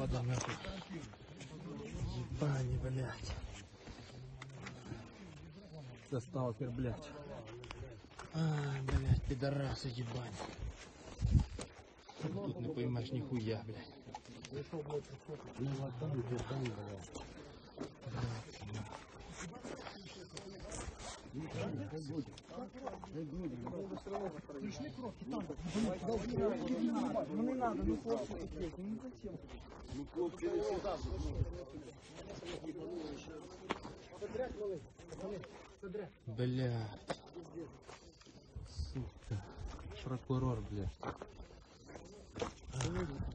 надо нахуй. Ебани, блядь. Это сталкер, блядь. Ай, блядь, пидорасы, ебать. Тут не поймешь нихуя, блядь. Ну не надо, ну хлопцы такие, ну зачем? Ну хлопці не всегда Блядь. Сука. Прокурор, блядь.